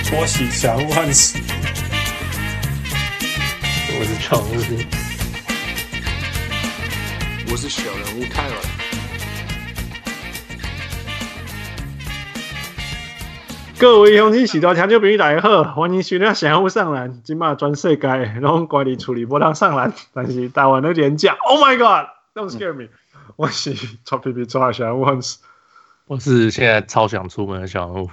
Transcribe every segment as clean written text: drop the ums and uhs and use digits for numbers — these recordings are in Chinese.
拖喜祥萬喜， 我是常務， 我是小人物泰尔。 各位鄉親、喜多聽眾朋友大家好，歡迎收聽小人物上籃。今麥全世界攏關佇厝裡無通上籃，但是台灣的連假 ，Oh my God，Don't scare me！、我是臭屁屁抓小人物萬喜。 我是現在超想出門的小人物。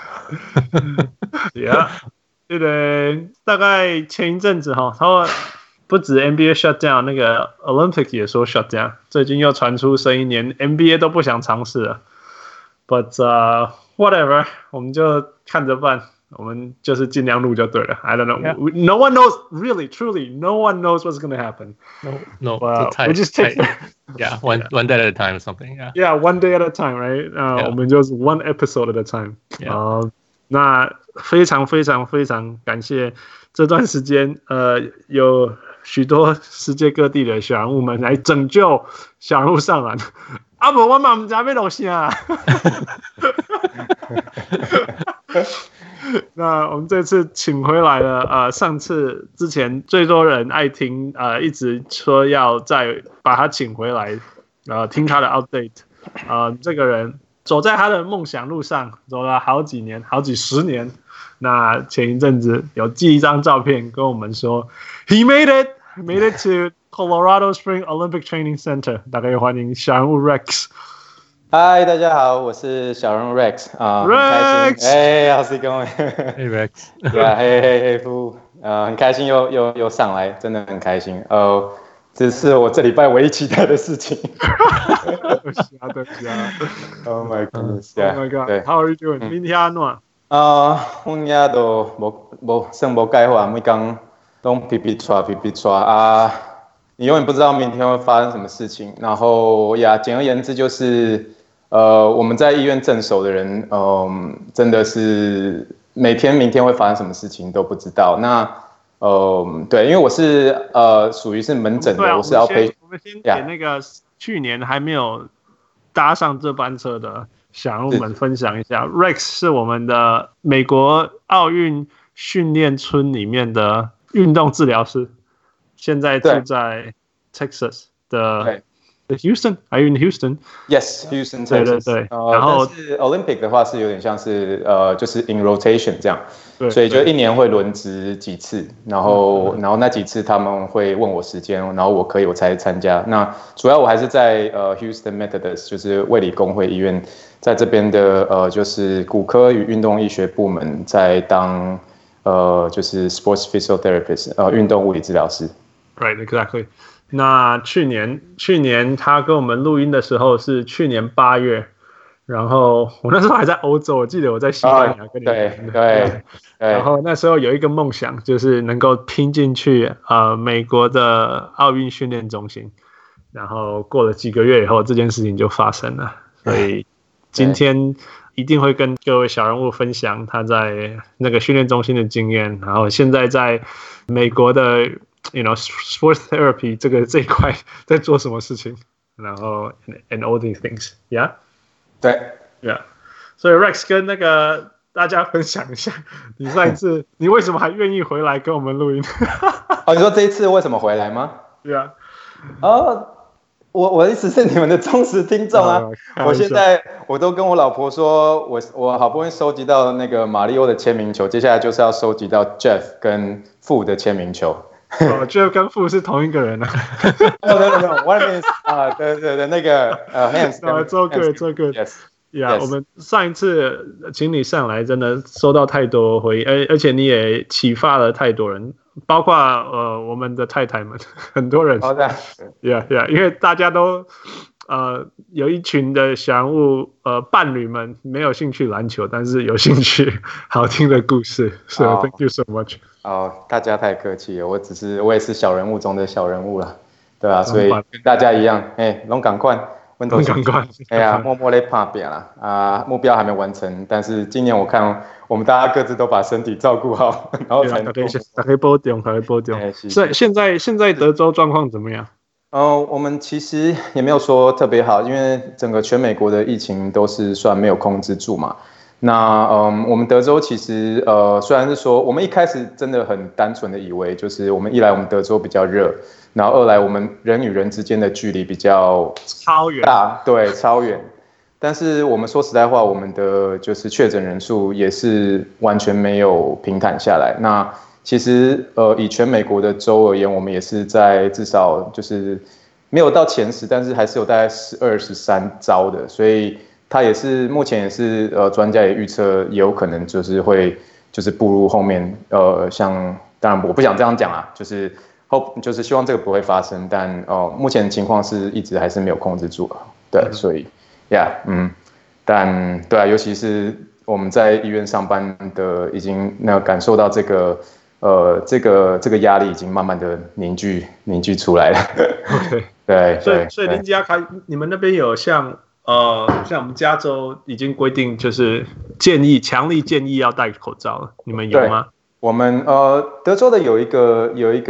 Yeah， 對的，大概前一陣子哈，他不止 NBA shut down， 那個 Olympic 也說 shut down， 最近又傳出聲音，連 NBA 都不想嘗試了。But whatever， 我們就看着辦，我們就是盡量錄就對了。I don't know，、yeah. No one knows really, truly, no one knows what's going to happen. No, we just take yeah, one day at a time or something. Yeah, one day at a time, right? Yeah. 我們就是 one episode at a time. Yeah. 那非常非常非常感謝這段時間，有許多世界各地的小人物們來拯救小人物上籃。啊不，我嘛唔知要錄啥。那我們這次請回來了，上次之前最多人愛聽，一直說要再把他請回來，聽他的 update， 這個人走在他的夢想路上，走了好幾年，好幾十年。那前一陣子有寄一張照片跟我們說 ，He made it to Colorado Springs Olympic Training Center。大家歡迎小人物 Rex。 嗨，大家好，我是小人物 Rex 啊， Rex， How's it going？ Hey Rex， yeah， 嘿夫，很開心又上來，真的很開心。這是我這禮拜唯一期待的事情。 對啊 Oh my goodness， Oh my God，How are you doing？ 明天安怎？ 我也都算無計劃，每天都皮皮抓啊，你永遠不知道明天會發生什麼事情。然後呀，簡而言之就是我們在醫院鎮守的人，真的是明天會發生什麼事情都不知道。那對，因為我是屬於是門診的，我是要陪。 我們先給那個去年還沒有搭上這班車的小人物們分享一下。Rex 是我們的美國奧運訓練村裡面的運動治療師，現在住在 Texas 的。Houston， Are you in Houston? Yes, Houston, Texas. 對。然後但是 Olympic 的話是有點像是就是 in rotation 這樣，所以就一年會輪值幾次，然後那幾次他們會問我時間，然後我才參加。那主要我還是在Houston Methodist， 就是衛理公會醫院，在這邊的就是骨科與運動醫學部門，在當就是 sports physiotherapist， 運動物理治療師。 Right, exactly. 那去年他跟我們錄音的時候是去年8月，然後我那時候還在歐洲，我記得我在西班牙跟你們。對。然後那時候有一個夢想，就是能夠拼進去美國的奧運訓練中心。然後過了幾個月以後，這件事情就發生了。所以今天一定會跟各位小人物分享他在那個訓練中心的經驗，然後現在在美國的sports therapy 這一塊在做什麼事情，然後 and all these things， yeah， 對 ，yeah， 所以 Rex 跟那個大家分享一下，你上一次你為什麼還願意回來跟我們錄音？ 你說這一次為什麼回來嗎？ 對啊， 我一直是你們的忠實聽眾啊，我現在我都跟我老婆說，我好不容易收集到那個馬里奧的簽名球，接下來就是要收集到 Jeff 跟傅的簽名球。 Jeff 跟傅是同一個人啊。 No, one is 對，那個Hans。 做 good。Yes。Yeah， 我們上一次請你上來，真的收到太多回憶，而且你也啟發了太多人，包括我們的太太們，很多人。Yeah， 因為大家都有一群的小人物伴侶們沒有興趣籃球，但是有興趣好聽的故事。So thank you so much。 大家太客氣了，我也是小人物中的小人物了，對吧？所以跟大家一樣，攏趕快，默默在打拼啦，目標還沒完成，但是今年我看我們大家各自都把身體照顧好，然後才能大家保重。所以現在德州狀況怎麼樣？ 我們其實也沒有說特別好，因為整個全美國的疫情都是算沒有控制住嘛。 那我們德州其實雖然是說我們一開始真的很單純的以為，就是我們一來我們德州比較熱，然後二來我們人與人之間的距離比較超遠大，对，超遠。但是我們說實在話，我們的就是確診人數也是完全沒有平坦下來。那其實以全美國的州而言，我們也是在至少就是沒有到前10，但是還是有大概12、13遭的，所以它也是目前也是專家也預測也有可能就是會就是步入後面像當然我不想這樣講啊，就是希望這個不會發生，但目前的情況是一直還是沒有控制住啊，對，所以但對啊，尤其是我們在醫院上班的，已經感受到这個壓力已經慢慢的凝聚出來了。 OK， 对， 所以林家開，你們那邊有像我們加州已經規定，就是強力建議要戴口罩了，你們有嗎？ 我們德州的有一個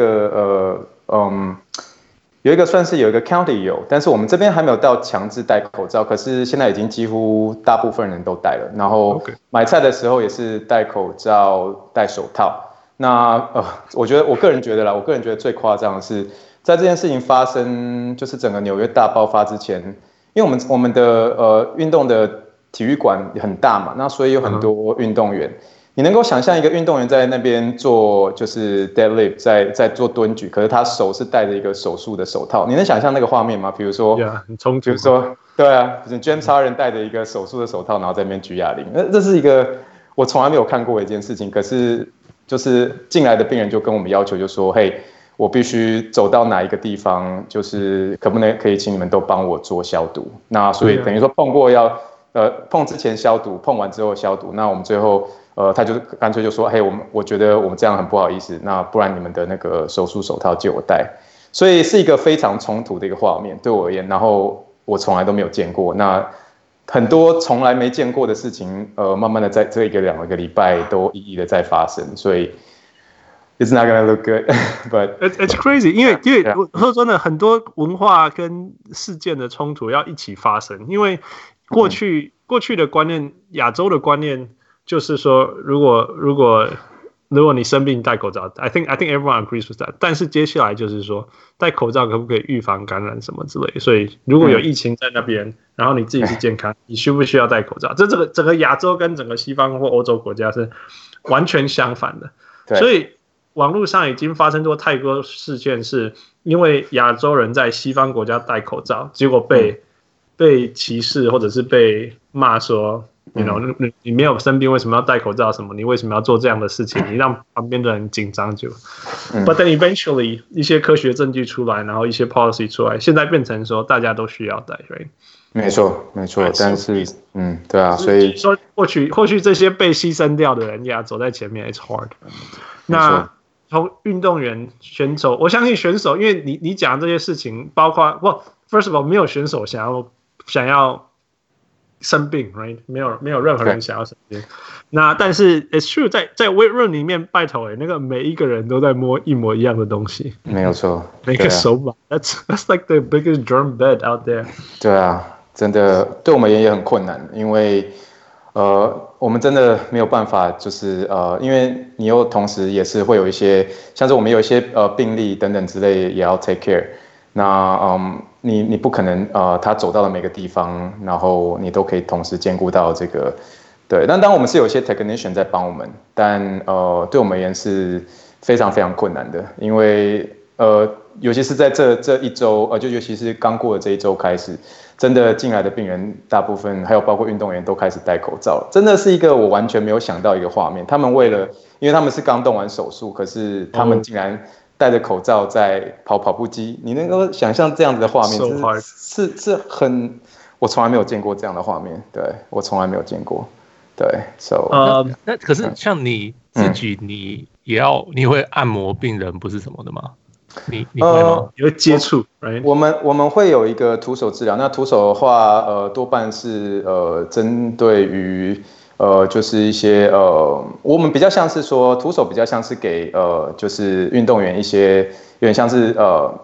算是有一個 county 有，但是我們這邊還沒有到強制戴口罩，可是現在已經幾乎大部分人都戴了，然後買菜的時候也是戴口罩、戴手套。那我個人覺得最誇張的是，在這件事情發生，就是整個紐約大爆發之前，因為我們的運動的體育館很大嘛，那所以有很多運動員。你能夠想象一個運動員在那邊做就是 deadlift， 在做蹲舉，可是他手是戴着一個手術的手套，你能想象那個畫面嗎？比如說，比如說，對啊，James Harden 戴着一個手術的手套，然後在那邊舉啞鈴，這是一個我從來沒有看過的一件事情。可是就是進來的病人就跟我們要求，就說，嘿，我必須走到哪一個地方，就是可以請你們都幫我做消毒。那所以等於說碰過碰之前消毒，碰完之後消毒。那我們最後。他就乾脆就說，嘿，我覺得我們這樣很不好意思，那不然你們的那個手術手套借我戴，所以是一個非常衝突的一個畫面對我而言，然後我從來都沒有見過，那很多從來沒見過的事情，慢慢的在這2個禮拜都一一的在發生，所以 it's not gonna look good, but it's crazy， 因為我說真的，很多文化跟事件的衝突要一起發生，因為過去的觀念，亞洲的觀念。就是說，如果你生病戴口罩 I think everyone agrees with that。但是接下來就是說，戴口罩可不可以預防感染什麼之類的？所以如果有疫情在那邊，然後你自己是健康，你需不需要戴口罩？這整個亞洲跟整個西方或歐洲國家是完全相反的。所以網絡上已經發生過太多事件，是因為亞洲人在西方國家戴口罩，結果被歧視或者是被罵說。你沒有生病，為什麼要戴口罩？什麼？你為什麼要做這樣的事情？你讓旁邊的人緊張就。But then eventually 一些科學證據出來，然後一些 policy 出來，現在變成說大家都需要戴 ，right？ 沒錯，但是對啊，所以說或許這些被犧牲掉的人呀，走在前面 ，it's hard。那從運動員、選手，我相信選手，因為你講這些事情，包括first of all， 沒有選手想要。生病 ，right？ 沒有任何人想要生病。那但是 it's true， 在 weight room 裡面，拜託那個每一個人都在摸一模一樣的東西。沒有錯，每個手把 ，that's like the biggest germ bed out there。 對啊，真的對我們也很困難，因為我們真的沒有辦法，就是因為你又同時也是會有一些，像是我們有一些病例等等之類也要 take care。那你不可能他走到了每個地方，然後你都可以同時兼顧到這個，對。但當我們是有一些 technician 在幫我們，但對我們而言是非常非常困難的，因為尤其是在這一周，就尤其是剛過的這一周開始，真的進來的病人大部分還有包括運動員都開始戴口罩，真的是一個我完全沒有想到一個畫面。他們因為他們是剛動完手術，可是他們竟然戴着口罩在跑步機，你能夠想象這樣子的畫面，是很，我從來沒有見過這樣的畫面，對，我從來沒有見過，對 ，so， 那可是像你自己，你會按摩病人不是什麼的嗎？你會嗎？ 你會接觸？ 我們會有一個徒手治療，那徒手的話，多半是針對於。就是一些我們比較像是說徒手比較像是給就是運動員一些有點像是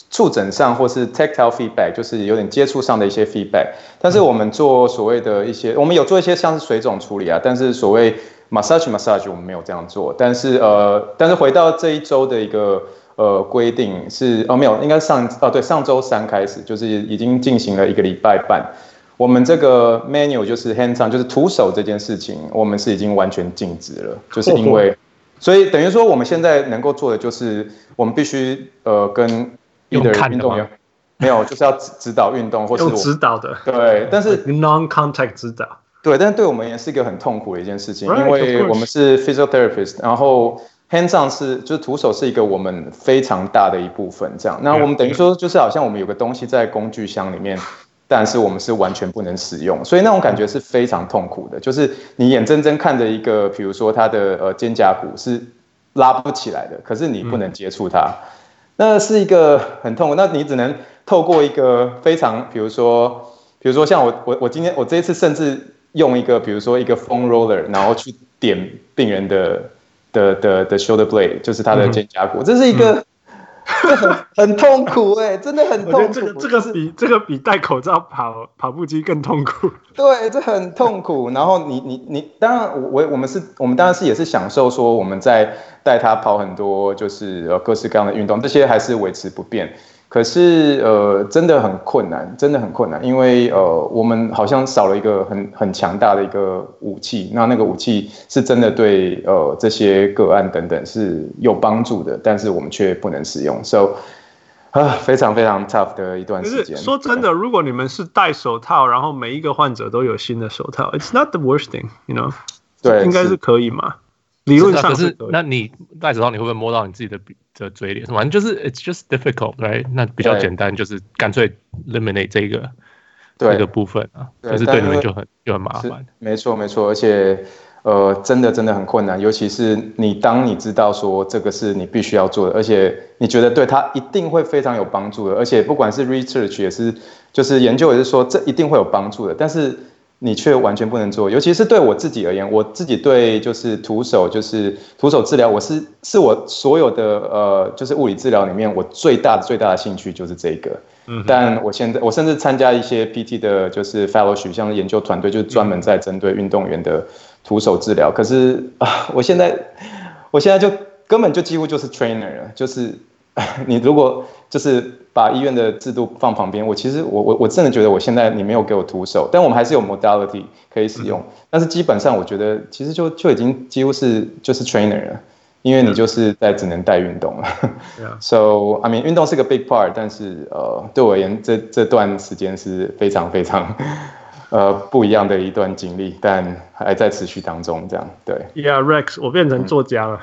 觸診上或是 tactile feedback， 就是有點接觸上的一些 feedback。但是我們做所謂的一些，我們有做一些像是水腫處理啊，但是所謂 massage 我們沒有這樣做。但是回到這一周的一個規定是沒有，應該上周3開始，就是已經進行了1個禮拜半。我們這個 manual 就是 hands on， 就是徒手這件事情，我們是已經完全禁止了，就是因為，所以等於說我們現在能夠做的就是我們必須跟運動員沒有，就是要指導運動，或是用指導的， 對，但是 non-contact 指導， 對，但是对我們也是一個很痛苦的一件事情，因為我們是 physiotherapist， 然後 hands on 就是徒手是一個我們非常大的一部分，這樣，那我們等於說就是好像我們有個東西在工具箱裡面。但是我們是完全不能使用，所以那種感覺是非常痛苦的。就是你眼睜睜看着一個，比如說他的肩胛骨是拉不起來的，可是你不能接觸它，那是一個很痛苦。那你只能透過一個非常，比如說像我今天我這一次甚至用一個，比如說一個 foam roller， 然後去點病人的 shoulder blade， 就是他的肩胛骨，這是一個。很痛苦真的很痛苦。這個比戴口罩跑步機更痛苦。对，這很痛苦。然後你當然我們當然是也是享受說我們在帶他跑很多就是各式各樣的運動，這些還是維持不變。可是真的很困難，真的很困難，因為我們好像少了一個很強大的一個武器，那個武器是真的對這些個案等等是有幫助的，但是我們卻不能使用 ，so 非常非常 tough 的一段時間。 說真的，如果你们是戴手套，然後每一個患者都有新的手套 ，it's not the worst thing，you know， 對，應該是可以嘛。理論上是可以。那你戴手套，你會不會摸到你自己的嘴臉？反正就是 it's just difficult，right？ 那比較簡單，就是乾脆 eliminate 這個部分啊，就是對你們就很麻煩。沒錯，而且真的很困難，尤其是當你知道說這個是你必須要做的，而且你覺得對它一定會非常有幫助的，而且不管是 research 也是，就是研究也是說這一定會有幫助的，但是你卻完全不能做，尤其是對我自己而言，我自己對就是徒手治療，我是我所有的就是物理治療裡面，我最大的興趣就是這個。但我甚至參加一些 PT 的，就是 fellowship， 像研究團隊，就是專門在針對運動員的徒手治療。可是我現在就根本就幾乎就是 trainer 了，就是你如果就是把醫院的制度放旁邊，我真的覺得我現在你沒有給我徒手，但我們還是有 modality 可以使用，但是基本上我覺得其實就已經幾乎是就是 trainer 了，因為你就是只能帶運動了。So I mean 運動是個 big part， 但是對我而言這段時間是非常非常不一樣的一段經歷，但還在持續當中，這樣對。Yeah Rex， 我變成作家了。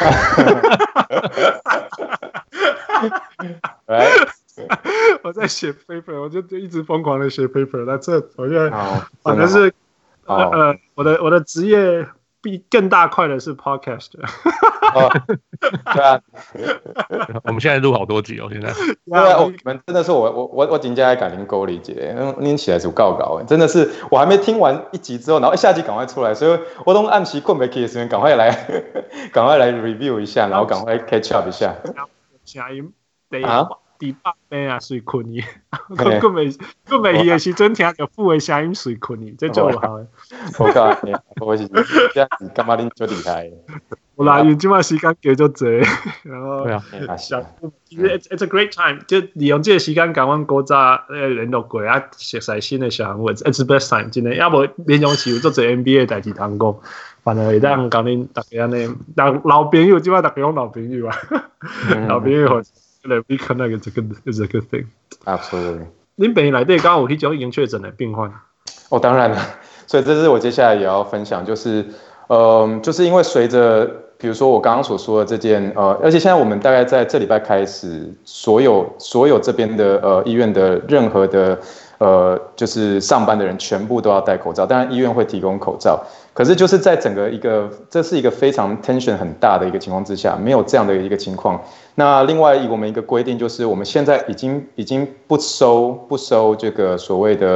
我在寫 paper， 我就一直瘋狂的寫 paper。那我現在反正是我的職業比更大塊的是 podcast。對啊， 我們現在錄好多集哦，現在。 對啊，我們真的是我真的感覺夠理解，念起來就告真的是我還沒聽完一集之後，然後下集趕快出來，所以我都暗時困不起的時間，趕快來 review 一下，然後趕快 catch up 一下。 聲音第8遍啊，睡困去。佢未去的時陣，聽到副的聲音睡困去，這就有效的。 我告訴你，我是這樣子，幹嘛你就厲害？ 我來因這麼時間給就濟，然後想，其實 it's a great time， 就利用這個時間，跟阮古早聯絡過啊，熟悉新的小人物 ，it's the best time， 真的。要不連用時有做做 NBA 代志通講，反而會當講恁大家安尼，老朋友，即擺大家講老朋友啊，老朋友。We connect is a good thing. Absolutely. 您本來對剛剛有去講已經確診的病患。 當然了，所以這是我接下來也要分享，就是就是因為隨着比如說我剛剛所說的這件而且現在我們大概在這禮拜開始，所有這邊的醫院的任何的就是上班的人全部都要戴口罩，當然醫院會提供口罩。可是就是在整個這是一個非常 tension 很大的一個情況之下，沒有這樣的一個情況。那另外我們一個規定就是，我們現在已經不收這個所謂的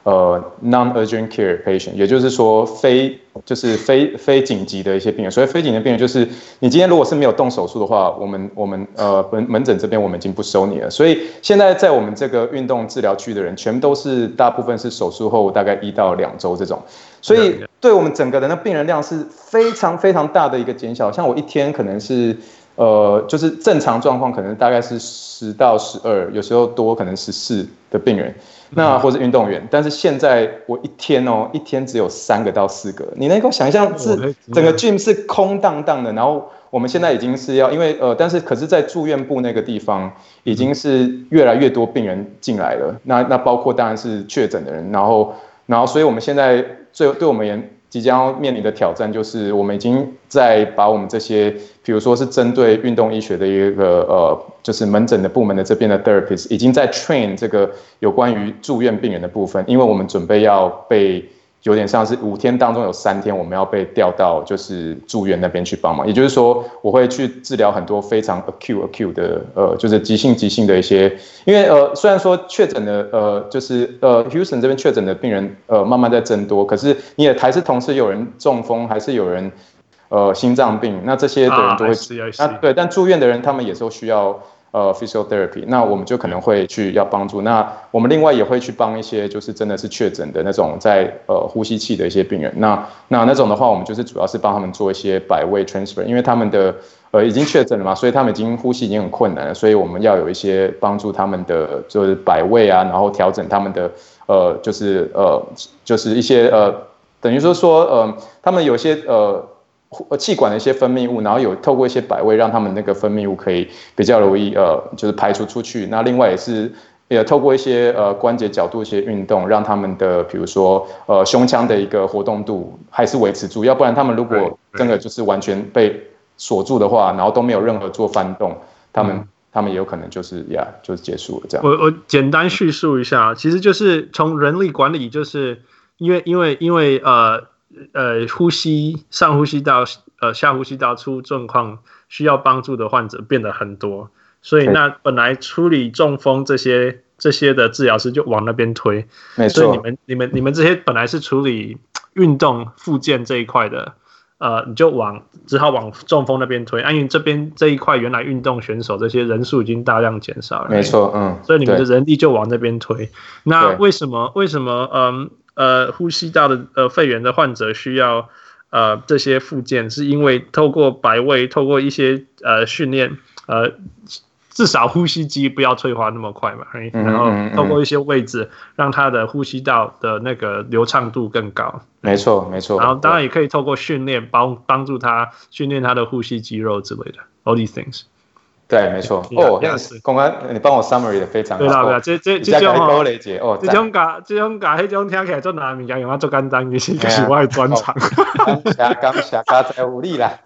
non-urgent care patient， 也就是說非緊急的一些病人。所以非緊急的病人就是你今天如果是沒有動手術的話，我們門診這邊我們已經不收你了。所以現在在我們這個運動治療區的人，全都是大部分是手術後大概1到2周這種。所以對我們整個人的病人量是非常非常大的一個減小。像我一天可能是就是正常狀況可能大概是10到12，有時候多可能14的病人。那或是運動員，但是現在我一天只有3個到4個，你能夠想象整個 gym 是空蕩蕩的，然後我們現在已經是要因為但是可是在住院部那個地方已經是越來越多病人進來了，那包括當然是確診的人，然後所以我們現在對我們而言即將要面臨的挑戰就是我們已經在把我們這些比如說是針對運動醫學的一個就是門診的部門的這邊的 therapist 已經在 train 這個有關於住院病人的部分，因為我們準備要被有點像是5天當中有3天我們要被調到就是住院那邊去幫忙，也就是說我會去治療很多非常 acute 的就是急性的一些，因為雖然說確診的就是 Houston 這邊確診的病人慢慢在增多，可是你也還是同時有人中風，還是有人心臟病，那這些的人都会对，但住院的人他們也都需要physiotherapy， 那我們就可能會去要幫助。那我們另外也會去幫一些就是真的是確診的那種在呼吸器的一些病人。那種的話，我們就是主要是幫他們做一些百位 transfer， 因為他們的已經確診了嘛，所以他们已經呼吸已經很困难了，所以我們要有一些幫助他們的就是百位啊，然後調整他們的就是一些等於說他們有些氣管的一些分泌物，然後有透過一些百位讓他們那個分泌物可以比較容易就是排除出去。那另外也透過一些關節角度一些運動，讓他們的比如說胸腔的一個活動度還是維持住，要不然他們如果真的就是完全被鎖住的話，然後都沒有任何做翻動，他們也有可能就是結束了這樣。 我簡單敘述一下，其實就是從人力管理，就是因為呼吸上呼吸道下呼吸道出狀況需要幫助的患者變得很多，所以那本來處理中風這些的治療師就往那邊推，沒錯。所以你們這些本來是處理運動復健這一塊的，你就只好往中風那邊推，因為這一塊原來運動選手這些人數已經大量減少了，沒錯，所以你們的人力就往那邊推。那為什麼呼吸道的肺炎的患者需要這些復健，是因為透過百位，透過一些訓練，至少呼吸機不要催化那麼快嘛，然後透過一些位置讓他的呼吸道的那個流暢度更高。沒錯。然後當然也可以透過訓練幫助他訓練他的呼吸肌肉之類的 ，all these things。对，没错。公安，你幫我 summary 的非常好。對啦，這種這種聽起來做難物件，用啊做簡單，其實就是我的專長。感謝加在有力啦。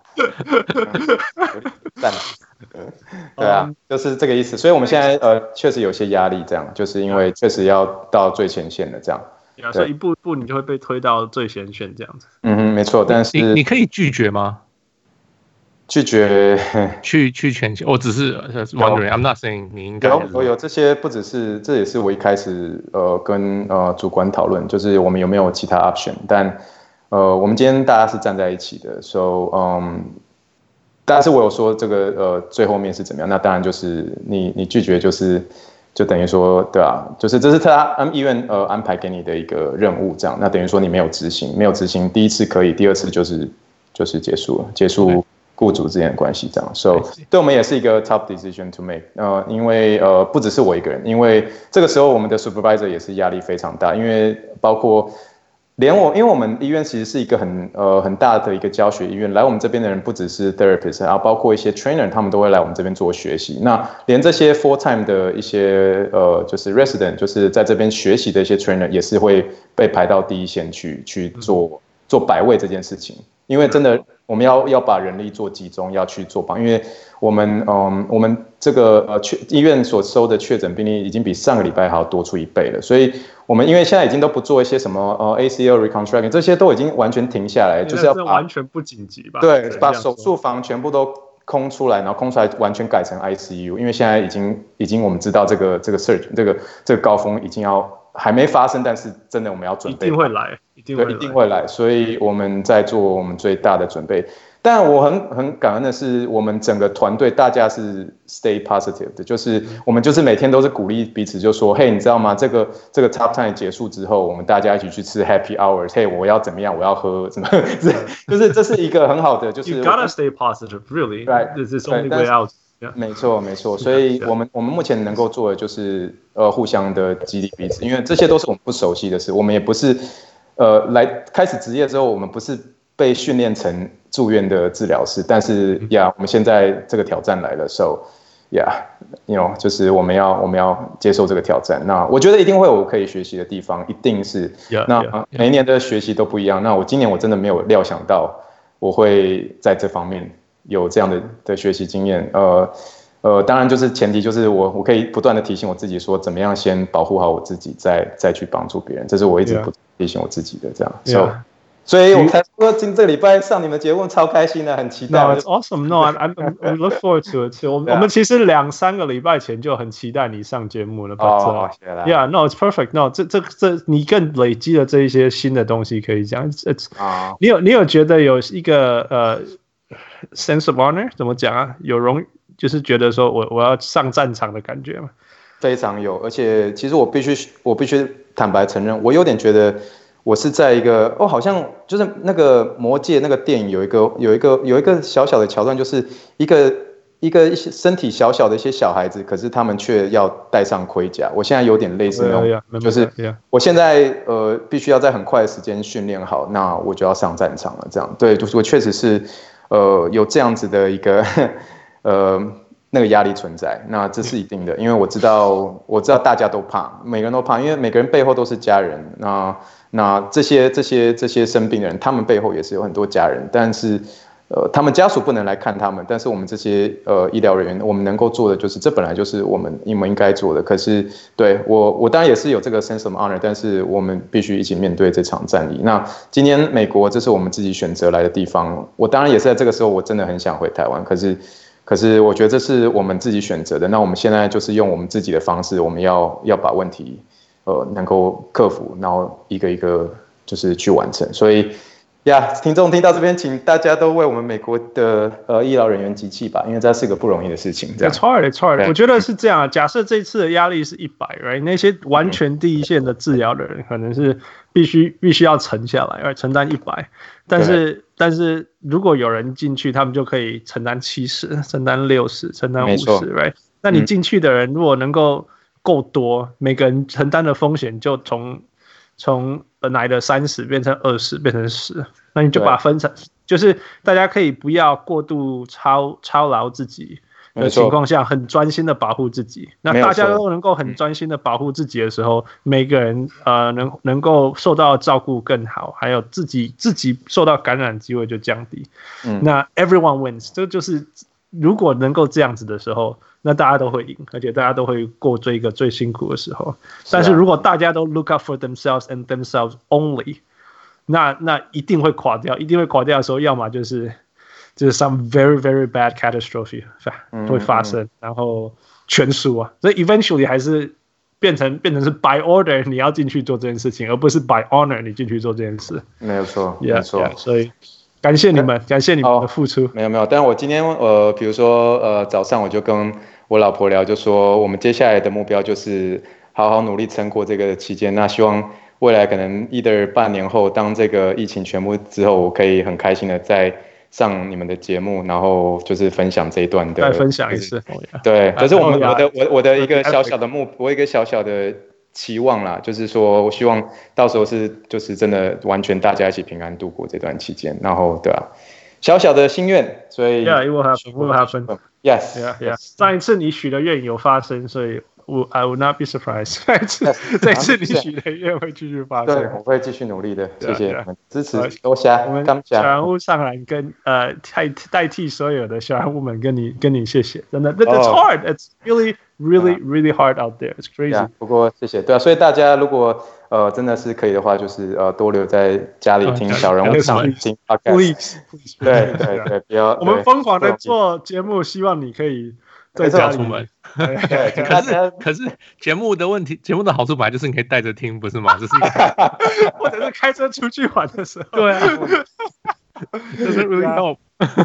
對啊，就是這個意思。所以我們現在確實有些壓力，這樣就是因為確實要到最前線的這樣。所以一步一步你就會被推到最前線這樣子。沒錯。但是你可以拒絕嗎？ 拒絕去前線，我只是 wondering，I'm not saying 你應該有這些，不只是，這也是我一開始跟主管討論，就是我們有沒有其他 option， 但我們今天大家是站在一起的 ，so 但是我有說這個最後面是怎麼樣，那當然就是你拒絕就等於說對啊，就是這是他醫院安排給你的一個任務這樣，那等於說你沒有執行，第一次可以，第二次就是結束了，結束。雇主之間的關係這樣 ，so 對我們也是一個 tough decision to make， 因為不只是我一個人，因為這個時候我們的 supervisor 也是壓力非常大，因為包括連我，因為我們醫院其實是一個很大的一個教學醫院，來我們這邊的人不只是 therapist， 然後包括一些 trainer， 他們都會來我們這邊做學習。那連這些 full time 的一些就是 resident， 就是在這邊學習的一些 trainer 也是會被排到第一線去做百位這件事情，因為真的。我們要把人力做集中，要去做幫，因為我們這個醫院所收的確診病例已經比上個禮拜還要多出1倍了，所以我們因為現在已經都不做一些什麼ACL reconstruction， 這些都已經完全停下來，就是要把完全不緊急吧？ 對，把手術房全部都空出來，然後空出來完全改成 ICU， 因為現在已經我們知道這個 surge 這個高峰已經要還沒發生，但是真的我們要準備， 一定會來，一定會來， 所以我們在做我們最大的準備。但我很感恩的是，我們整個團隊大家是 stay positive 的，就是我們就是每天都是鼓勵彼此，就說，嘿，你知道嗎？這個 Top 10結束之後，我們大家一起去吃 Happy Hours， 嘿，我要怎麼樣？我要喝什麼？就是這是一這是一個很好的，就是 You gotta stay positive, really. Right. This is only way out. 沒錯，所以我們目前能夠做的就是互相的激勵彼此，因為這些都是我們不熟悉的事，我們也不是來開始職業之後，我們不是被訓練成住院的治療師，但是我們現在這個挑戰來了 ，so就是我們要接受這個挑戰。那我覺得一定會有可以學習的地方，一定是。那每一年的學習都不一樣。那我今年我真的沒有料想到我會在這方面有這樣的學習經驗。當然就是前提就是我可以不斷的提醒我自己說，怎麼樣先保護好我自己，再去幫助別人。這是我一直不提醒我自己的這樣。所以我才說这個禮拜上你們節目超開心的，很期待。 No, it's awesome. No, I look forward to it too. 我們其實2-3個禮拜前就很期待你上節目了。Yeah, no, it's perfect. No, 這你更累積了這一些新的東西可以講。你有覺得有一個sense of honor 怎麼講啊？就是覺得說我要上戰場的感覺嗎？ 非常有，而且其實我必須坦白承認，我有點覺得。我是在一個好像就是那個魔戒那個電影有一個小小的橋段，就是一個身體小小的一些小孩子，可是他們卻要戴上盔甲。我現在有點類似那種，就是我現在必須要在很快的時間訓練好，那我就要上戰場了。這樣對，就是我確實是有這樣子的一個那個壓力存在，那這是一定的，因為我知道大家都怕，每個人都怕，因為每個人背後都是家人。那這些生病的人，他們背後也是有很多家人，但是他們家屬不能來看他們，但是我們這些醫療人員，我們能夠做的就是，這本來就是我們應該做的。可是對我當然也是有這個 sense of honor， 但是我們必須一起面對這場戰役。那今年美國這是我們自己選擇來的地方，我當然也是在這個時候，我真的很想回台灣，可是我覺得這是我們自己選擇的。那我們現在就是用我們自己的方式，我們要把問題能夠克服，然後一個一個就是去完成。所以聽眾聽到這邊，請大家都為我們美國的醫療人員集氣吧，因為這是個不容易的事情。It's hard. 我覺得是這樣。假設這次的壓力是100 ，right？ 那些完全第一線的治療的人，可能是必須要沉下來，承擔100。但是如果有人進去，他們就可以承擔70、承擔60、承擔50 ，right？ 那你進去的人如果能夠夠多，每個人承擔的風險就從本來的30變成20，變成10，那你就把它分成，就是大家可以不要過度操勞自己的情況下，很專心的保護自己。那大家都能夠很專心的保護自己的時候，每個人能夠受到的照顧更好，還有自己受到感染機會就降低。那 everyone wins， 這就是如果能夠這樣子的時候，那大家都會贏，而且大家都會過這一個最辛苦的時候。但是如果大家都 look out for themselves and themselves only， 那一定會垮掉，一定會垮掉的時候，要麼就是 some very very bad catastrophe 會發生，然後全輸啊。所以 eventually 還是變成是 by order 你要進去做這件事情，而不是 by honor 你進去做這件事。 沒有錯，沒錯。 所以感謝你們，感謝你們的付出。 沒有，但我今天比如說早上我就跟我老婆聊，就說我們接下來的目標就是好好努力撐過這個期間。那希望未來可能either半年後，當這個疫情全部之後，我可以很開心的再上你們的節目，然後就是分享這一段的。再分享一次。 對，可是我的一個小小的我一個小小的期望啦，就是說我希望到时候就是真的完全大家一起平安度過這段期間，然後对啊，小小的心願，所以 it will happen. Yes. 上一次你許的願有發生，所以I would not be surprised. 這次你許的願會繼續發生。 對，我會繼續努力的。謝謝你們支持，多謝。 我們小人物上來跟代替所有的小人物們跟你謝謝，真的 ，It's hard. It's really hard out there. It's crazy. 不過謝謝，對啊，所以大家如果真的是可以的話，就是多留在家裡聽小人物上聽 podcast。對，不要。 我們瘋狂的做節目，希望你可以在家出門。 对， 可是節目的问题，節目的好處本來就是你可以带着聽，不是嗎？這是一個或者是開車出去玩的時候。 對啊，這是 really help。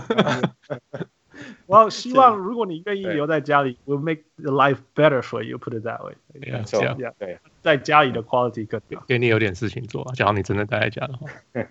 我希望如果你願意留在家裡 ，will make the life better for you. Put it that way. 這樣， 对， 在家裡的 quality 更好， 給你有點事情做。假如你真的待在家的話。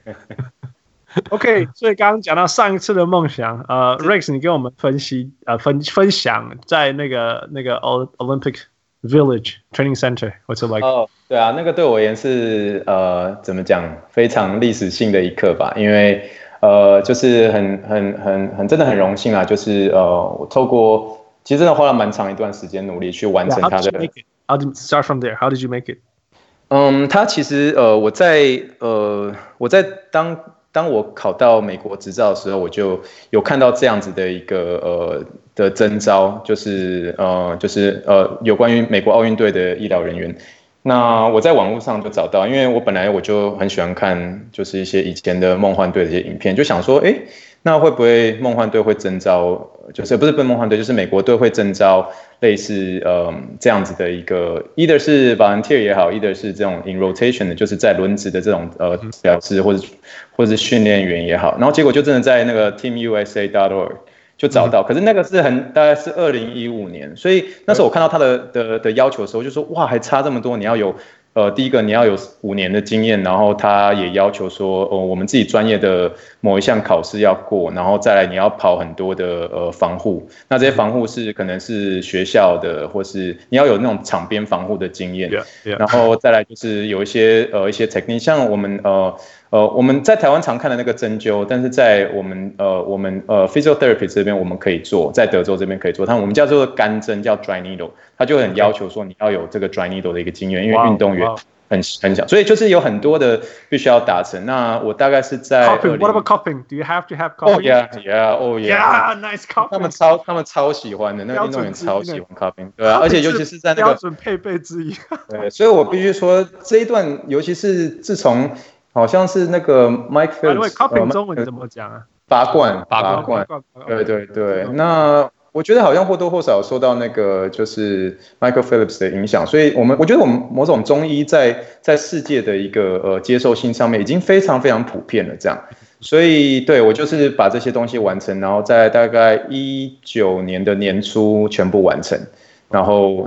OK， 所以剛剛講到上一次的夢想，Rex， 你跟我們分享在那個 Olympic Village Training Center，what's it like？ 對啊，那個對我而言是怎麼講，非常歷史性的一刻吧，因為就是真的很榮幸啊，就是我透過其實真的花了蠻長一段時間努力去完成它的。 How did you start from there? How did you make it？ 它其實我在當我考到美國執照的時候，我就有看到這樣子的一個的徵召，就是有關於美國奧運隊的醫療人員。那我在網絡上就找到，因為我本來我就很喜歡看就是一些以前的夢幻隊的一些影片，就想說，那會不會夢幻隊會徵召，就是不是夢幻隊，就是美國隊會徵召類似這樣子的一個 ，either 是 volunteer 也好 ，either 是這種 in rotation 的，就是在輪值的這種治療師或者是訓練員也好，然後結果就真的在那個 teamusa.org 就找到，可是那個是大概是2015年，所以那時候我看到他的要求的時候，就說哇，還差這麼多，你要有第一個你要有5年的經驗，然後他也要求說我們自己專業的某一項考試要過，然後再來你要跑很多的防護，那這些防護是可能是學校的，或是你要有那種場邊防護的經驗，然後再來就是有一些technique， 像我們在台灣常看的那個針灸，但是在我們physiotherapy 這邊我們可以做，在德州這邊可以做，我們叫做乾針，叫 dry needle， 他就很要求說你要有這個 dry needle 的一個經驗，因為運動員很小，所以就是有很多的必須要達成。那我大概是在 What about cupping? Do you have to have cupping? Oh yeah, nice cupping. 他們超喜歡的，那個運動員超喜歡 cupping， 对啊，而且尤其是在那個標準配備之一。 對，所以我必須說這一段，尤其是自從好像是那個 Mike Phillips，cupping 中文怎麼講啊？ 拔罐，對。那我覺得好像或多或少受到那個就是 Michael Phillips 的影響，所以我覺得我們某種中醫在世界的一個接受性上面已經非常非常普遍了，這樣。所以對我就是把這些東西完成，然後在大概19年的年初全部完成。然後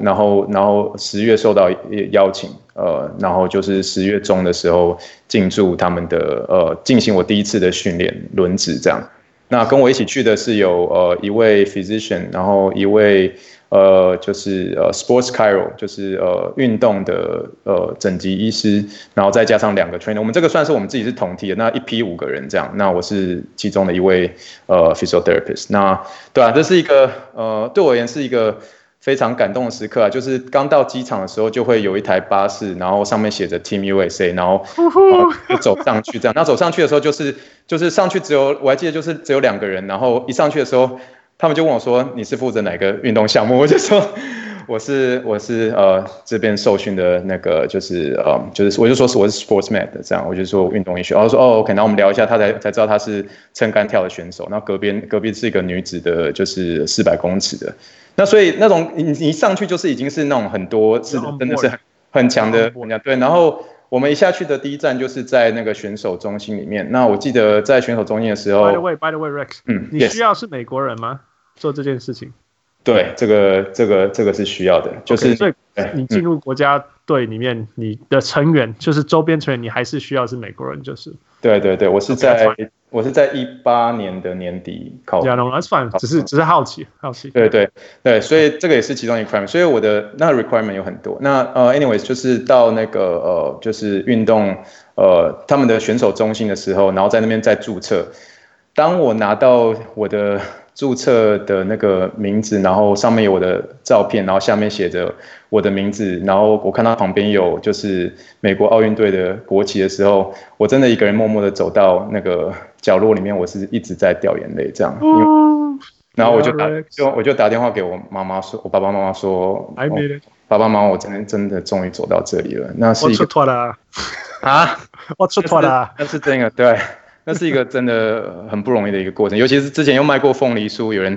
10月受到邀請，然後就是10月中的時候進駐他們的進行我第一次的訓練輪值這樣。那跟我一起去的是有一位 physician， 然後一位就是sports chiro， 就是運動的整級醫師，然後再加上2個 trainer， 我們這個算是我們自己是同梯的，那一批5個人這樣。那我是其中的一位physiotherapist。那對啊，這是一個對我而言是一個非常感動的時刻啊，就是剛到機場的時候就會有一台巴士，然後上面寫着 Team USA， 然後就走上去這樣。那走上去的時候就是上去我還記得就是只有2個人，然後一上去的時候，他們就問我說你是負責哪個運動項目？我就說我是這邊受訓的那個就是我就說我是 sports med 的這樣，我就說運動醫學，然後說OK，然後我們聊一下，他才知道他是撐桿跳的選手，然後隔壁是一個女子的，就是400公尺的。那所以那種你一上去就是已經是那種很多是真的是很強的对，然後我們一下去的第一站就是在那個選手中心裡面。那我記得在選手中心的時候 By the way Rex， 你需要是美國人嗎？做這件事情？对， 這個是需要的，就是所以你進入國家隊裡面，你的成員就是周邊成員，你還是需要是美国人，就是对，我是在18年的年底考。 Yeah, no, that's fine. 只是好奇。 对，所以這個也是其中一個 requirement。所以我的那個 requirement 有很多。那anyways 就是到那個就是運動他們的選手中心的時候，然後在那邊再註冊。當我拿到我的註冊的那個名字，然後上面有我的照片，然後下面寫着我的名字，然後我看到旁邊有就是美國奧運隊的國旗的時候，我真的一個人默默的走到那個角落裡面，我是一直在掉眼淚這樣。然後我就打電話給我媽媽說，我爸爸媽媽說，爸爸媽媽，我真的終於走到這裡了。那是一個我出脫了啊， 我出脫了， 那是真的對。那是一個真的很不容易的一個過程，尤其是之前又賣過鳳梨酥，有人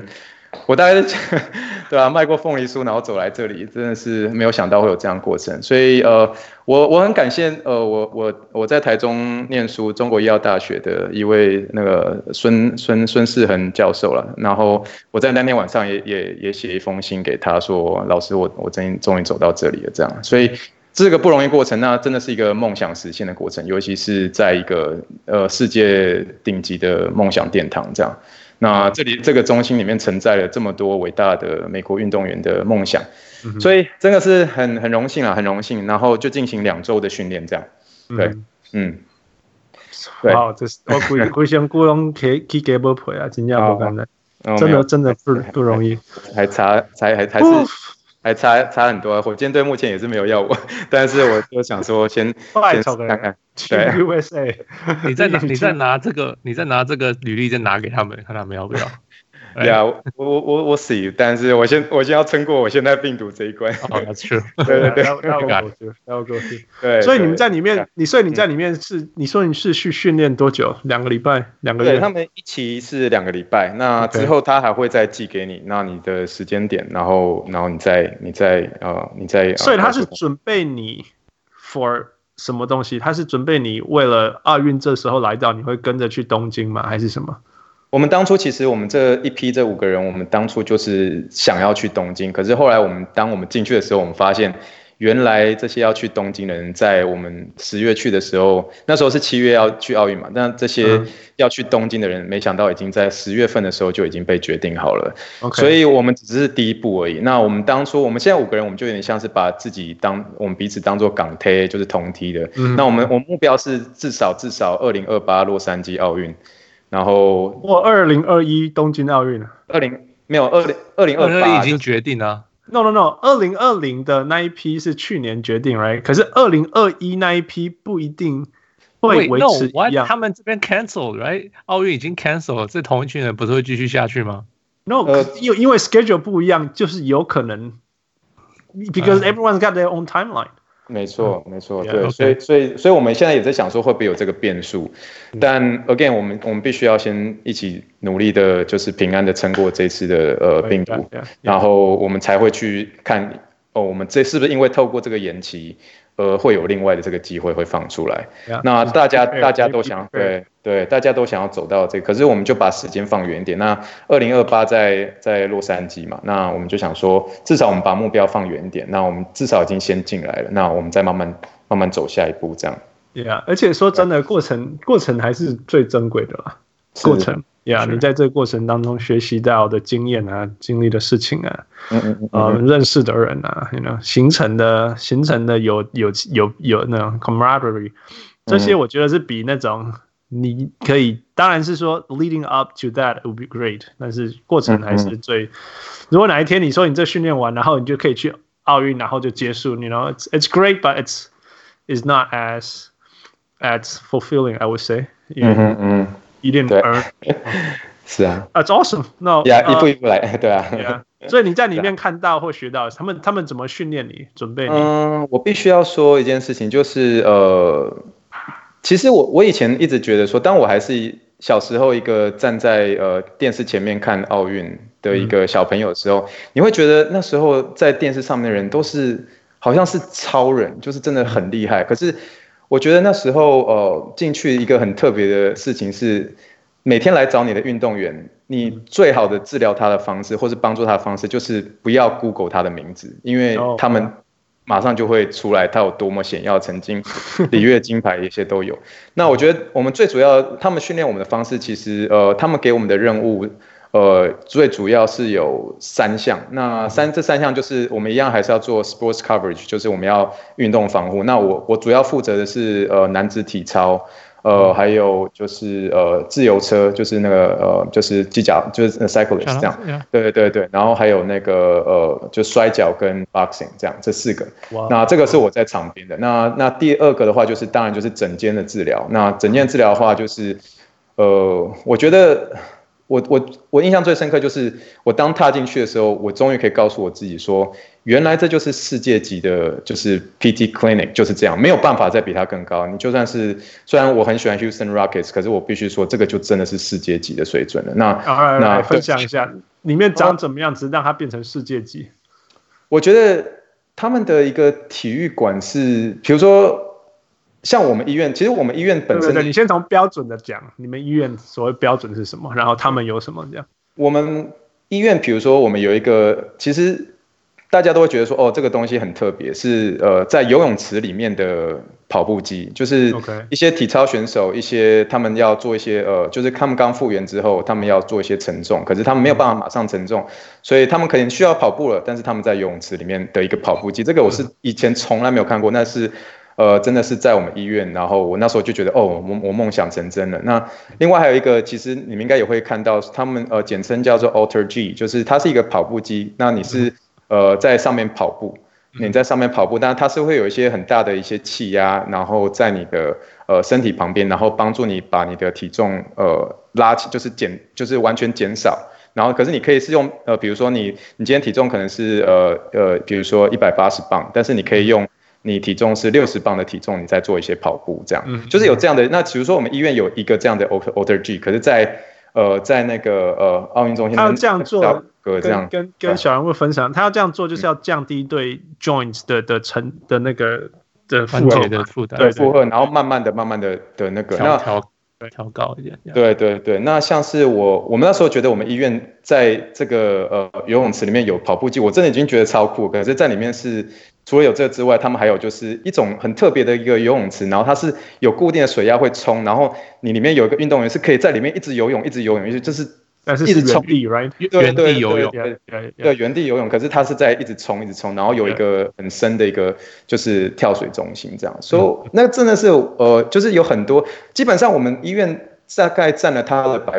我大概是對啊，賣過鳳梨酥，然後走來這裡，真的是沒有想到會有這樣的過程。所以我很感謝我在台中念書，中國醫藥大學的一位那個孫世恆教授了。然後我在那天晚上也寫一封信給他說，老師我終於走到這裡了，這樣。所以這個不容易過程，那真的是一個夢想實現的過程，尤其是在一個世界頂級的夢想殿堂這樣。那這個中心裡面承載了這麼多偉大的美國運動員的夢想，所以真的是很榮幸啊，很榮幸。然後就進行2周的訓練，這樣。對， 對。哇，這是我規身骨攏起雞毛皮啊，真正不簡單，真的不容易。還差很多，火箭隊目前也是沒有要我，但是我就想說先看看。对 USA， 你再拿这个履歷再拿給他們，看他們要不要。 Yeah， 我死，但是我先要撐過我現在病毒這一關。 That's true。 對，要過去。對，所以你們在裡面，所以你在裡面是，你說你是去訓練多久？2個禮拜，2個月？ 對，他們一期是2個禮拜，那之後他還會再寄給你，那你的時間點，然後你再。 所以他是準備你 for 什麼東西？他是準備你為了奧運這時候來到，你會跟着去東京嗎？還是什麼？ 我們當初其實我們這5個人，我們當初就是想要去東京，可是後來當我們進去的時候，我們發現原來這些要去東京的人，在我們10月去的時候，那時候是7月要去奧運嘛，但這些要去東京的人，沒想到已經在10月份的時候就已經被決定好了。所以我們只是第一步而已。那我們現在5個人，我們就有點像是把我們彼此當作港梯，就是同梯的。那我們目標是至少2028洛杉磯奧運。然後 2021東京奧運 2028已經決定了。 No ，2020的那一批是去年決定 ，right？ 可是2021那一批不一定會維持一樣。 他們這邊 cancel，right？ 奧運已經 cancel 了，這同一群人不是會繼續下去嗎 ？No， 因為 schedule 不一樣，就是有可能 ，because everyone's got their own timeline。 沒錯，對，所以我們現在也在想說會不會有這個變數，但 again 我們必須要先一起努力的，就是平安的撐過這次的病毒，然後我們才會去看我們這是不是因為透過這個延期，會有另外的這個機會會放出來。那大家都想對，大家都想要走到這個，可是我們就把時間放遠一點。那2028在洛杉磯嘛，那我們就想說，至少我們把目標放遠一點。那我們至少已經先進來了，那我們再慢慢走下一步，這樣。 Yeah， 而且說真的，過程還是最珍貴的啦。過程，Yeah， 你在這個過程當中學習到的經驗啊，經歷的事情啊，認識的人啊形成的有那種 camaraderie， 這些我覺得是比那種你可以，當然是說 leading up to that would be great， 但是過程還是最。如果哪一天你說你這訓練完，然後你就可以去奧運，然後就結束，it's great, but it's not as fulfilling, I would say。You didn't earn。 是啊。 That's awesome. No。 一步一步來，對啊。 所以你在裡面看到或學到，他們怎麼訓練你，準備你？ 我必須要說一件事情，就是其實我以前一直覺得說，當我還是小時候一個站在電視前面看奧運的一個小朋友的時候，你會覺得那時候在電視上面的人都是好像是超人，就是真的很厲害。可是我覺得那時候進去一個很特別的事情是，每天來找你的運動員，你最好的治療他的方式，或是幫助他的方式，就是不要 Google 他的名字，因為他們馬上就會出來他有多麼顯耀，曾經里約金牌一些都有。那我覺得我們最主要，他們訓練我們的方式，其實他們給我們的任務，最主要是有3項。那這3項就是我們一樣還是要做 sports coverage， 就是我們要運動防護。那我主要負責的是男子體操。還有就是自由車，就是那個就是機甲，就是 cyclist 這樣，對，然後還有那個就摔角跟 boxing 這樣，這4個。那這個是我在場邊的。那第2個的話，就是當然就是整間的治療。那整間治療的話，就是我覺得我印象最深刻就是我當踏進去的時候，我終於可以告訴我自己說，原來這就是世界級的，就是 PT Clinic 就是這樣，沒有辦法再比它更高。你就算是，雖然我很喜歡 Houston Rockets， 可是我必須說，這個就真的是世界級的水準了。那分享一下， 裡面長怎麼樣子，讓它變成世界級？ 我覺得他們的一個體育館是，比如說像我們醫院，其實我們醫院本身， 对，你先從標準的講，你們醫院所謂標準是什麼，然後他們有什麼這樣？我們醫院，比如說我們有一個，其實大家都會覺得說，哦，這個東西很特別，是在游泳池裡面的跑步機，就是一些體操選手，一些他們要做一些就是他們剛復原之後，他們要做一些承重，可是他們沒有辦法馬上承重，所以他們可能需要跑步了，但是他們在游泳池裡面的一個跑步機，這個我是以前從來沒有看過，那是真的是在我們醫院，然後我那時候就覺得，哦，我夢想成真了。那另外還有一個，其實你們應該也會看到，他們簡稱叫做 AlterG， 就是它是一個跑步機，那你是在上面跑步。你在上面跑步，但是它是會有一些很大的一些氣壓，然後在你的身體旁邊，然後幫助你把你的体重拉起，就是完全減少。然後可是你可以是用比如說你今天體重可能是比如說180磅，但是你可以用你體重是60磅的體重，你再做一些跑步，這樣就是有這樣的。那比如說我們醫院有一個這樣的 AlterG， 可是在那個奧運中心， 他要這樣做。跟小人物分享，他要這樣做就是要降低對 joint 的那個的負擔， 对負荷，然后慢慢的那個調高一點。 对，那像是我們那時候覺得我們醫院在這個游泳池裡面有跑步機，我真的已經覺得超酷。可是在裡面是除了有這個之外，他們還有就是一種很特別的一個游泳池，然後它是有固定的水壓會衝，然後你裡面有一個運動員是可以在裡面一直游泳，就是但是是原地 ，right？ 原地游泳， 对，原地游泳。可是他是在一直冲，然后有一個很深的一個就是跳水中心這樣。所以那真的是就是有很多，基本上我們醫院大概佔了它的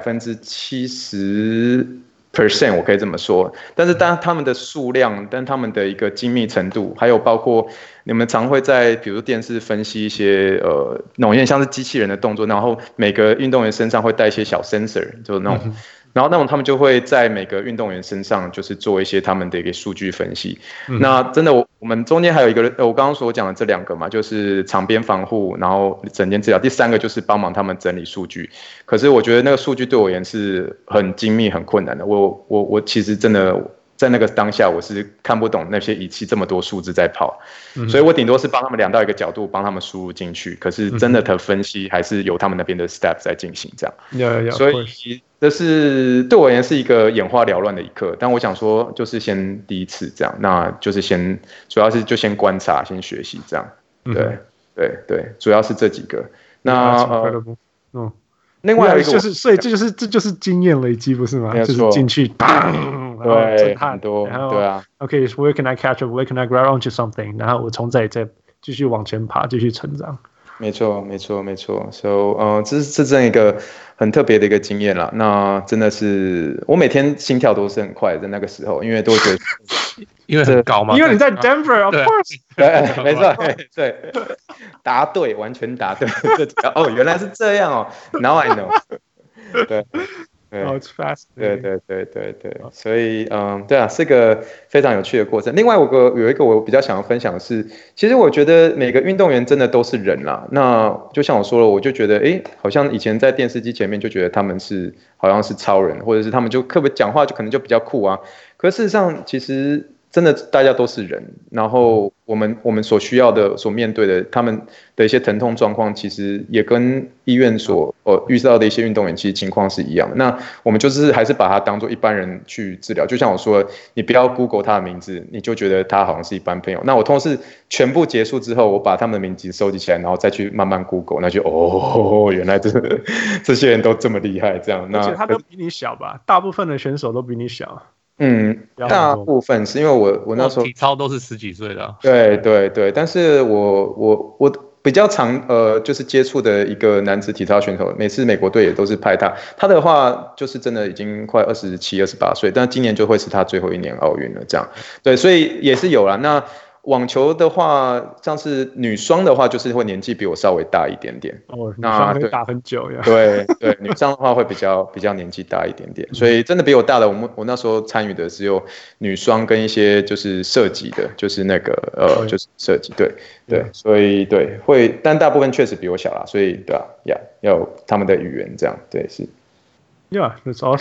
70%，我可以這麼說。但是當他們的數量，但他們的一個精密程度，還有包括你們常會在比如電視分析一些那種有點像是機器人的動作，然後每個運動員身上會帶一些小 sensor， 就是那種。然後那種他們就會在每個運動員身上就是做一些他們的一個數據分析。那真的我們中間還有一個我剛剛所講的這兩個嘛，就是場邊防護，然後診間治療，第三個就是幫忙他們整理數據。可是我覺得那個數據對我而言是很精密很困難的。我其實真的在那個當下我是看不懂那些儀器這麼多數字在跑，所以我頂多是幫他們量到一個角度，幫他們輸入進去。可是真的的分析還是由他們那邊的 staff 在進行這樣。所以這是對我而言是一個眼花繚亂的一刻。但我想說，就是先第一次這樣，那就是主要是就先觀察，先學習這樣。對，主要是這幾個。那另外一個就是，所以這就是經驗累積，不是嗎？就是進去， 對，很多，對啊。 OK，where can I catch up? Where can I grab onto something? 然後我從這裡再繼續往前爬，繼續成長。 沒錯。So， 這是真一個很特別的一個經驗啦。那真的是，我每天心跳都是很快的，在那個時候，因為都會覺得， 因為很高嘛。 因為你在 Denver，of course。 對，沒錯，對，答對，完全答對。哦，原來是這樣哦。Now I know。對。 It's fast。 對，所以對啊，是個非常有趣的過程。另外有一個我比較想要分享的是，其實我覺得每個運動員真的都是人啦。那就像我說了，我就覺得好像以前在電視機前面就覺得他們是好像是超人，或者是他們就特別講話就可能就比較酷啊。可是事實上，其實真的大家都是人，然後我們所需要的、所面對的他們的一些疼痛狀況，其實也跟醫院所遇到的一些運動員其實情況是一樣的。那我們就是還是把他當作一般人去治療。就像我說的，你不要 Google 他的名字，你就覺得他好像是一般朋友。那我通常是全部結束之後，我把他們的名字收集起來，然後再去慢慢 Google， 那就原來這些人都這麼厲害，這樣。 而且他都比你小吧？大部分的選手都比你小。 大部分是因為我那時候體操都是10幾歲的。 對，但是我比較常就是接觸的一個男子體操選手，每次美國隊也都是派他的話就是真的已經快27、28歲，但今年就會是他最後一年奧運了，這樣。對，所以也是有啦。那網球的話，像是女雙的話，就是會年紀比我稍微大一點點。 女雙會打很久呀。 對，女雙的話會比較年紀大一點點，所以真的比我大的，我那時候參與的只有女雙跟一些就是射擊的，就是那個就是射擊，對，所以對會，但大部分確實比我小啦，所以對啊，要有他們的語言這樣，對是。 Yeah, that's awesome.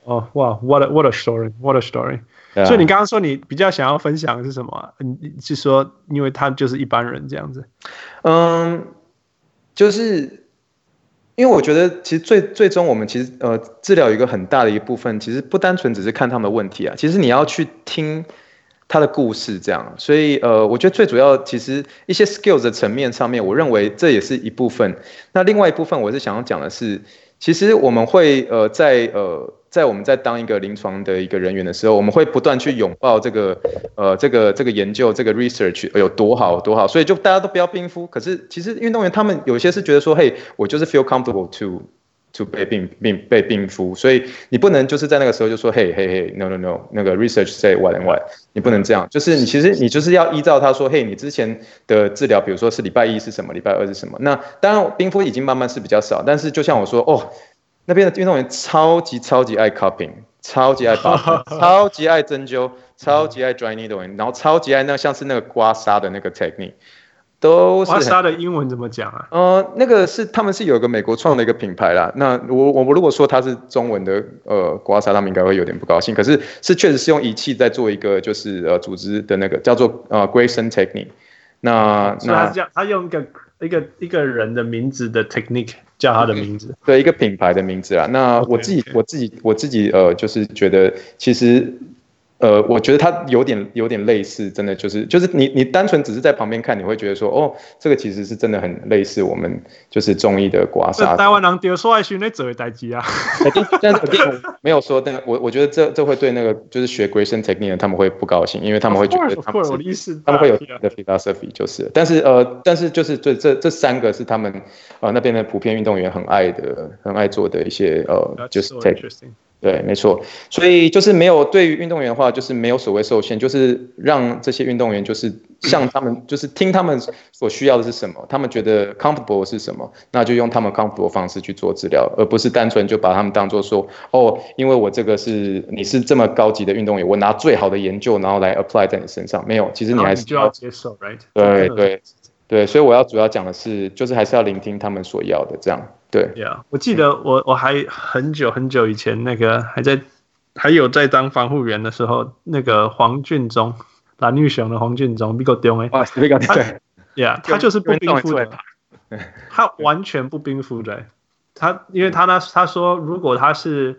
哦，哇 ，what a story，what a story。所以你刚刚說你比較想要分享的是什麼啊？你是說因為他就是一般人這樣子？ 就是因為我覺得其實最終我們其實治療有一個很大的一部分，其實不單純只是看他們的問題啊，其實你要去聽他的故事這樣。所以我覺得最主要其實一些 skills 的層面上面，我認為這也是一部分。那另外一部分我是想要講的是，其實我們會在我們在當一個臨床的一個人員的時候，我們會不斷去擁抱這個研究，這個 research 有多好多好，所以就大家都不要冰敷。可是其實運動員他們有些是覺得說，嘿，我就是 feel comfortable to 被冰敷，所以你不能就是在那個時候就說，嘿 no， 那個 research say what and what， 你不能這樣，就是你就是要依照他說，嘿，你之前的治療，比如說是禮拜一是什麼，禮拜二是什麼。那當然冰敷已經慢慢是比較少，但是就像我說，哦。那邊的運動員超級愛 cupping， 超級愛拔針，超級愛針灸，超級愛 dry needling， 然後超級愛那像是那個刮痧的那個 technique， 都是。刮痧的英文怎麼講啊？ 那個他們是有一個美國創的一個品牌啦。那我如果說它是中文的刮痧，他們應該會有點不高興。可是確實是用儀器在做一個就是組織的那個叫做Grayson technique。那他用一個人的名字的 technique。叫他的名字，对，一個品牌的名字啦。那我自己就是覺得，其實我覺得它有點類似，真的就是你單純只是在旁邊看，你會覺得說，哦，這個其實是真的很類似我們就是中醫的刮痧。台灣人丟說愛訓那做的代誌啊。但是我沒有說那個，我覺得這會對那個就是學 Grayson technique 的他們會不高興，因為他們會覺得他們會有的 philosophy 就是，但是就是這三個是他們那邊的普遍運動員很愛做的一些就是 technique。對，沒錯，所以就是沒有對於運動員的話，就是沒有所謂受限，就是讓這些運動員就是像他們，就是聽他們所需要的是什麼，他們覺得 comfortable 是什麼，那就用他們 comfortable 的方式去做治療，而不是單純就把他們當作說，哦，因為我這個你是這麼高級的運動員，我拿最好的研究然後來 apply 在你身上，沒有，其實你還是就要接受 ，right？對，所以我要主要講的是，就是還是要聆聽他們所要的，這樣。對 ，Yeah， 我記得我還很久以前那個還有在當防護員的時候，那個黃俊忠，藍玉雄的黃俊忠，比較重哎，Yeah， 他就是不冰敷的，他完全不冰敷的，因為他說如果他是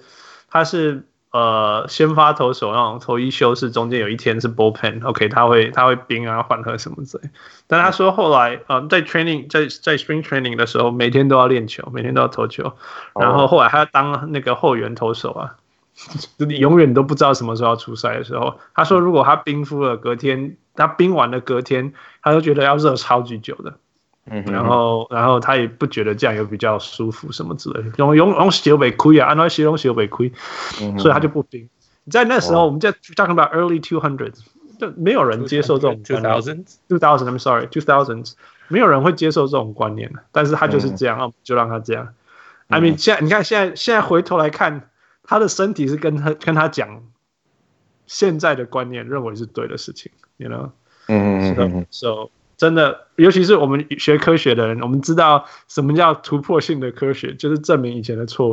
先發投手那種投一休士，中間有一天是 bullpen，OK， 他会冰啊緩和什麼之類。但他說後來在 training 在 spring training 的時候，每天都要練球，每天都要投球，然後後來他要當那個後援投手啊，你永遠都不知道什麼時候要出賽的時候，他說如果他冰敷了，隔天他冰完了隔天，他就覺得要熱超級久的。然後他也不覺得這樣有比較舒服什麼之類的，用小被虧啊，按照形容小被虧，所以他就不冰。在那時候，我們在 talking about early 200s， 就沒有人接受這種觀念。2000 I'm sorry 2000s， 沒有人會接受這種觀念，但是他就是這樣，就讓他這樣。I mean， 你看現在回頭來看，他的身體是跟他講現在的觀念，認為是對的事情，you know，so 真的，尤其是我們學科學的人，我們知道什麼叫突破性的科學，就是證明以前的錯。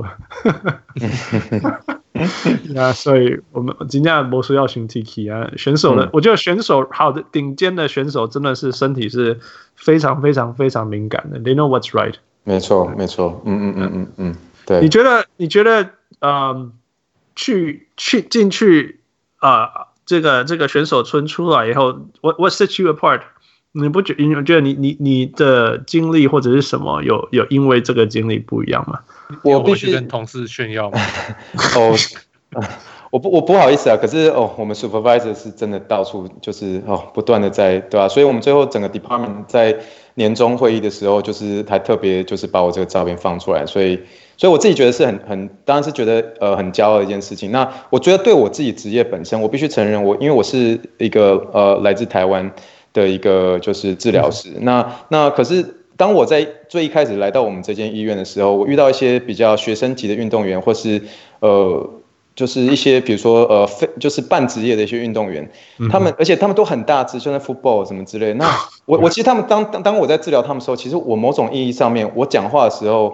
那所以我們今天魔術要尋 Tiki 啊，選手的，我覺得選手好的頂尖的選手真的是身體是非常非常非常敏感的 ，They know what's right。 沒錯，對。 你覺得進去這個選手村出來以後 ，what sets you apart？你觉得你的经历或者是什麼有因為這個經歷不一樣嗎？ 我必須跟同事炫耀嗎？ 我不好意思啊，可是我們 supervisor 是真的到處就是不斷的在，對吧？所以我們最後整個 department 在年終會議的時候，就是還特別就是把我這個照片放出來，所以我自己覺得是當然是覺得很驕傲的一件事情。那我覺得對我自己職業本身，我必須承認因為我是一個來自台灣的一個就是治療師，那可是當我在最一開始來到我們這間醫院的時候，我遇到一些比較學生級的運動員，或是就是一些比如說就是半職業的一些運動員，而且他們都很大只，就像 football 什麼之類的。那我其實他們當我在治療他們的時候，其實我某種意義上面，我講話的時候，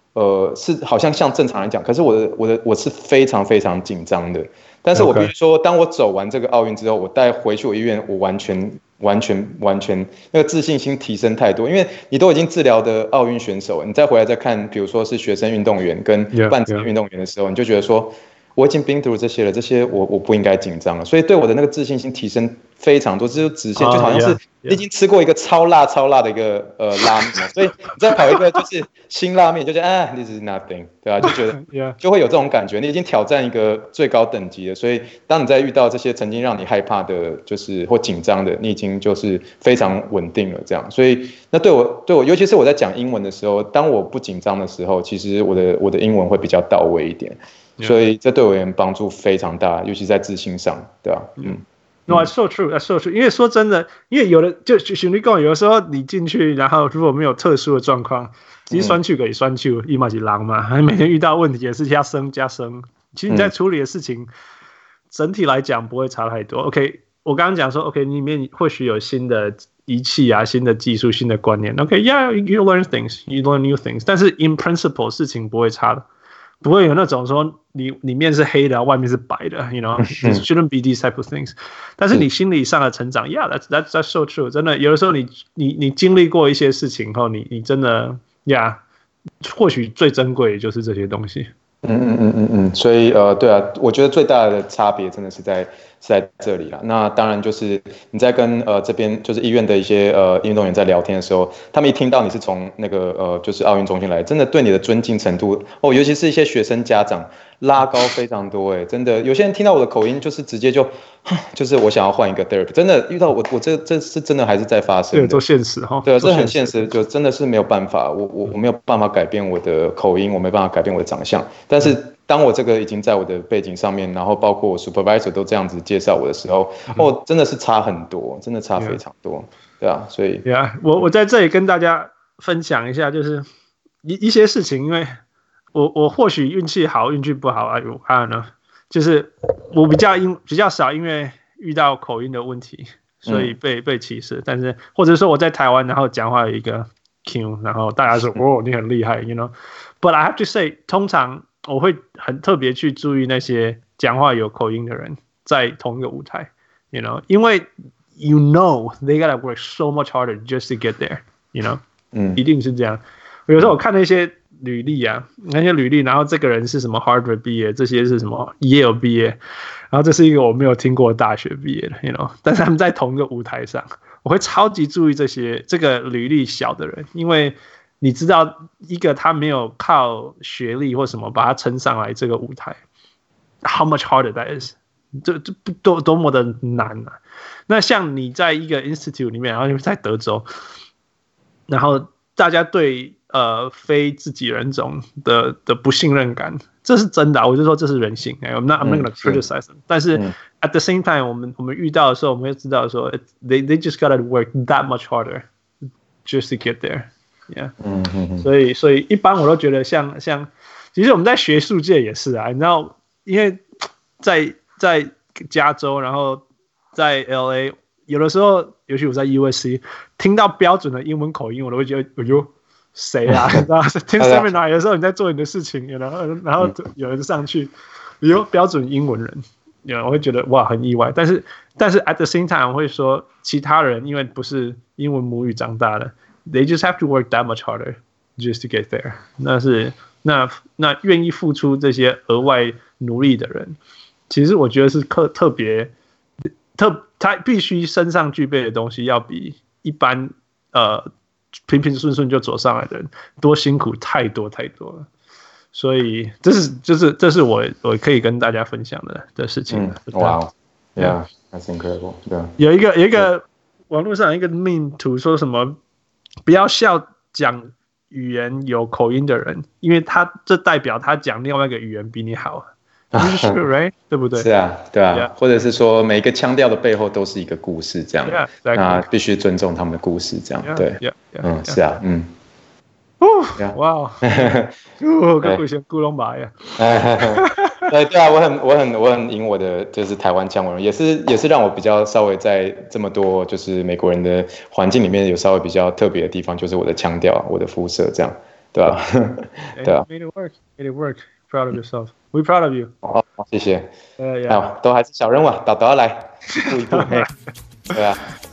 是好像正常來講，可是我是非常非常緊張的。但是我必須說，當我走完這個奧運之後，我帶回去我醫院，我完全那個自信心提升太多，因為你都已經治療的奧運選手，你再回來再看，比如說是學生運動員跟半職業運動員的時候，你就覺得說，我已經 been through 這些了，這些我不應該緊張了，所以對我的那個自信心提升非常多，這就直線就好像是你已經吃過一個超辣的一個拉麵，所以你再跑一個就是辛拉麵，就覺得this is nothing， 對吧？就覺得就會有這種感覺，你已經挑戰一個最高等級了，所以當你在遇到這些曾經讓你害怕的，就是或緊張的，你已經就是非常穩定了，這樣。所以那對我，尤其是我在講英文的時候，當我不緊張的時候，其實我的英文會比較到位一點。所以這對我而言幫助非常大，尤其在自信上，對吧？No, that's so true, that's so true. 因為說真的，因為有的就像你講，有的時候你進去，然後如果沒有特殊的狀況，其實酸球可以酸球，一嘛是狼嘛，每天遇到問題也是加升。其實你在處理的事情，整體來講不會差太多。OK， 我剛剛講說 ，OK， 裡面或許有新的儀器啊、新的技術、新的觀念。OK，yeah, you learn things, you learn new things， 但是 in principle 事情不會差的。不會有那種說你裡面是黑的，外面是白的 ，you know, it shouldn't be these type of things。但是你心理上的成長 ，yeah, that's so true。真的，有的時候你經歷過一些事情後，你真的 ，yeah， 或許最珍貴的就是這些東西。 所以對啊，我覺得最大的差別真的是在這裡啦。那當然就是你在跟這邊就是醫院的一些運動員在聊天的時候，他們一聽到你是從那個就是奧運中心來，真的對你的尊敬程度尤其是一些學生家長拉高非常多真的有些人聽到我的口音就是直接就是我想要換一個 therapy， 真的遇到我這是真的還是在發生的， 對，都現實哈， 對，這很現實，就真的是沒有辦法，我沒有辦法改變我的口音，我沒辦法改变我的長相，但是當我這個已經在我的背景上面，然後包括我 supervisor 都這樣子介紹我的時候，真的是差很多，真的差非常多，對啊，所以我在這裡跟大家分享一下，就是一些事情，因為我或許運氣好，運氣不好I don't know，就是我比較少因為遇到口音的問題，所以被歧視，但是或者說我在台灣，然後講話有一個 Q， 然後大家說你很厲害 ，you know，but I have to say， 通常我會很特別去注意那些講話有口音的人在同一個舞台 ，you know， 因為 you know they gotta work so much harder just to get there，you know，一定是這樣。有時候我看那些履歷啊，然後這個人是什麼 Harvard 畢業，這些是什麼 Yale 畢業，然後這是一個我沒有聽過的大學畢業的 ，you know， 但是他們在同一個舞台上，我會超級注意這個履歷小的人，因為你知道一個他沒有靠學歷或什麼把他撐上來這個舞台 ，how much harder that is， 這多麼的難啊！那像你在一個 institute 裡面，然後你在德州，然後大家對非自己人種的不信任感，這是真的，我就說這是人性。I'm not gonna criticize them，但是 at the same time，我們遇到的時候，我們會知道說，they just gotta work that much harder just to get there。Yeah， 所以一般我都覺得像，其實我們在學術界也是啊，你知道，因為在加州，然後在 LA， 有的時候，尤其我在 USC， 聽到標準的英文口音，我都會覺得，哎呦，誰啊？你知道，聽 seminar 有時候你在做你的事情，然後有人上去，有標準英文人，我會覺得哇很意外。但是 at the same time， 我會說其他人因為不是英文母語長大的。They just have to work that much harder just to get there。那願意付出這些額外努力的人，其實我覺得是特別他必須身上具備的東西，要比一般平平順順就走上來的人多辛苦太多了。所以這是我可以跟大家分享的事情。 Wow, yeah, that's incredible。 有一個網絡上有一個 meme 圖說什麼？不要笑講語言有口音的人，因為這代表他講另外一個語言比你好。Right？ 對不對？是啊， 對啊， yeah. 或者是說每一個腔調的背後都是一個故事，這樣。Yeah, 那必須尊重他們的故事，這樣。Yeah, 對，是啊， 哇，跟古先古龍馬呀。 對啊，我很贏我的就是台灣腔文，也是讓我比較稍微在這麼多就是美國人的環境裡面有稍微比較特別的地方，就是我的腔調，我的膚色這樣。 对啊，对啊 ，made it work，proud of yourself，we proud of you。 哦，謝謝。都還是小人物，導要來，一步一步。對啊。